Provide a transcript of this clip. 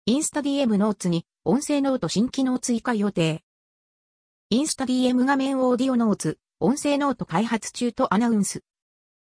インスタ DM ノーツに音声ノート新機能追加予定。インスタ DM 画面オーディオノーツ、音声ノート開発中とアナウンス。